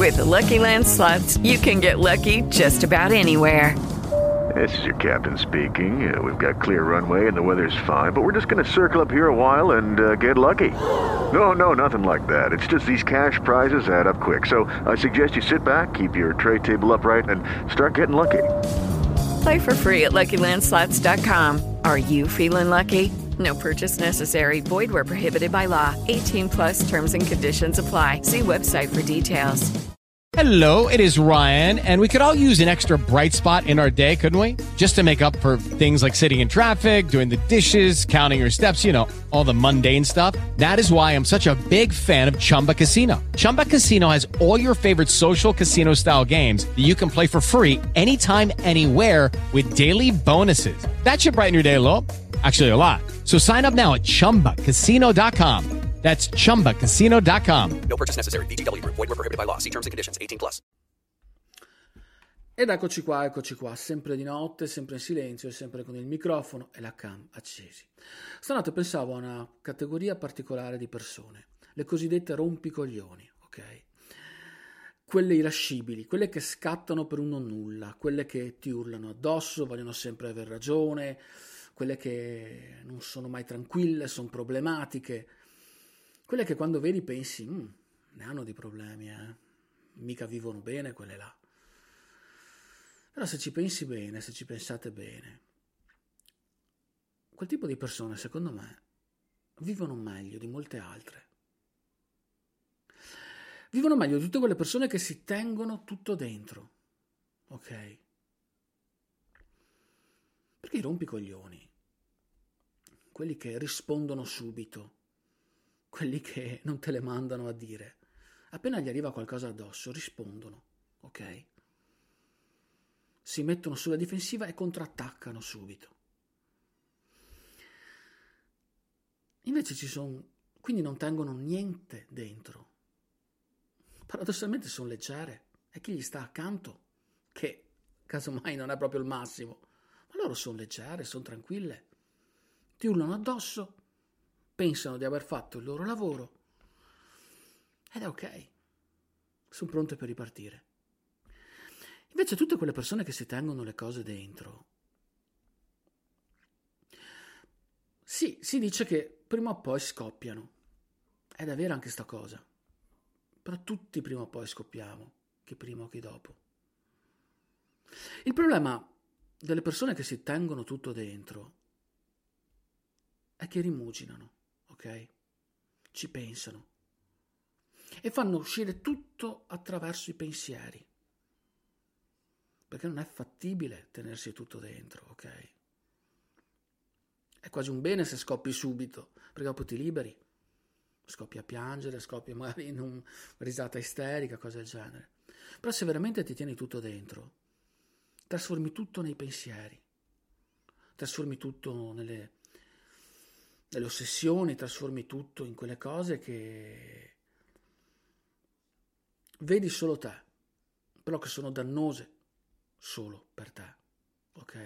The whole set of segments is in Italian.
With the Lucky Land Slots, you can get lucky just about anywhere. This is your captain speaking. We've got clear runway and the weather's fine, but we're just going to circle up here a while and get lucky. No, nothing like that. It's just these cash prizes add up quick. So I suggest you sit back, keep your tray table upright, and start getting lucky. Play for free at LuckyLandSlots.com. Are you feeling lucky? No purchase necessary. Void where prohibited by law. 18 plus terms and conditions apply. See website for details. Hello, it is Ryan, and we could all use an extra bright spot in our day, couldn't we? Just to make up for things like sitting in traffic, doing the dishes, counting your steps, you know, all the mundane stuff. That is why I'm such a big fan of Chumba Casino. Chumba Casino has all your favorite social casino-style games that you can play for free anytime, anywhere with daily bonuses. That should brighten your day a little. Actually, a lot. So sign up now at ChumbaCasino.com. That's ChumbaCasino.com. No purchase necessary. VGW Group. Void where prohibited by law. See terms and conditions. 18 plus. Ed eccoci qua, sempre di notte, sempre in silenzio e sempre con il microfono e la cam accesi. Stanotte pensavo a una categoria particolare di persone, le cosiddette rompicoglioni, ok? Quelle irascibili, quelle che scattano per un nonnulla, quelle che ti urlano addosso, vogliono sempre aver ragione, quelle che non sono mai tranquille, sono problematiche, quelle che quando vedi pensi, ne hanno di problemi, mica vivono bene quelle là. Però se ci pensi bene, se ci pensate bene, quel tipo di persone, secondo me, vivono meglio di molte altre. Vivono meglio di tutte quelle persone che si tengono tutto dentro, ok? Perché i rompicoglioni, quelli che rispondono subito, quelli che non te le mandano a dire, appena gli arriva qualcosa addosso, rispondono, ok? Si mettono sulla difensiva e contrattaccano subito. Invece quindi non tengono niente dentro. Paradossalmente sono leggere, e chi gli sta accanto, che casomai non è proprio il massimo, ma loro sono leggere, sono tranquille, ti urlano addosso, pensano di aver fatto il loro lavoro ed è ok, sono pronte per ripartire. Invece tutte quelle persone che si tengono le cose dentro, sì, si dice che prima o poi scoppiano, ed è vera anche sta cosa, però tutti prima o poi scoppiamo, chi prima o chi dopo. Il problema delle persone che si tengono tutto dentro è che rimuginano, ok? Ci pensano e fanno uscire tutto attraverso i pensieri, perché non è fattibile tenersi tutto dentro, ok? È quasi un bene se scoppi subito, perché dopo ti liberi, scoppi a piangere, scoppi magari in una risata isterica, cose del genere. Però se veramente ti tieni tutto dentro, trasformi tutto nei pensieri, trasformi tutto nelle ossessioni, trasformi tutto in quelle cose che vedi solo te, però che sono dannose solo per te, ok?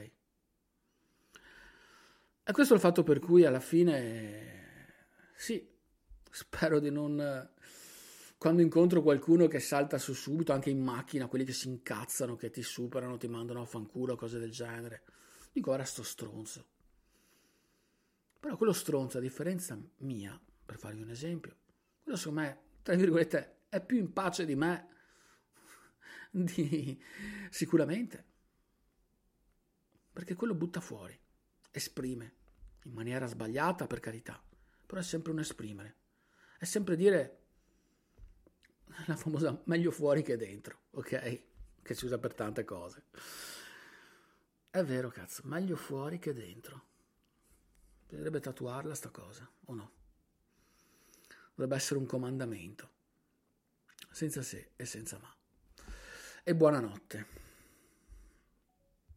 E questo è il fatto per cui alla fine, sì, spero di non, quando incontro qualcuno che salta su subito, anche in macchina, quelli che si incazzano, che ti superano, ti mandano a fanculo, cose del genere, dico, ora sto stronzo. Però quello stronzo, a differenza mia, per farvi un esempio, quello secondo me, tra virgolette, è più in pace di me, sicuramente, perché quello butta fuori, esprime, in maniera sbagliata per carità, però è sempre un esprimere, è sempre dire la famosa meglio fuori che dentro, ok? Che si usa per tante cose. È vero, cazzo, meglio fuori che dentro. Bisognerebbe tatuarla sta cosa, o no? Dovrebbe essere un comandamento, senza se e senza ma. E buonanotte.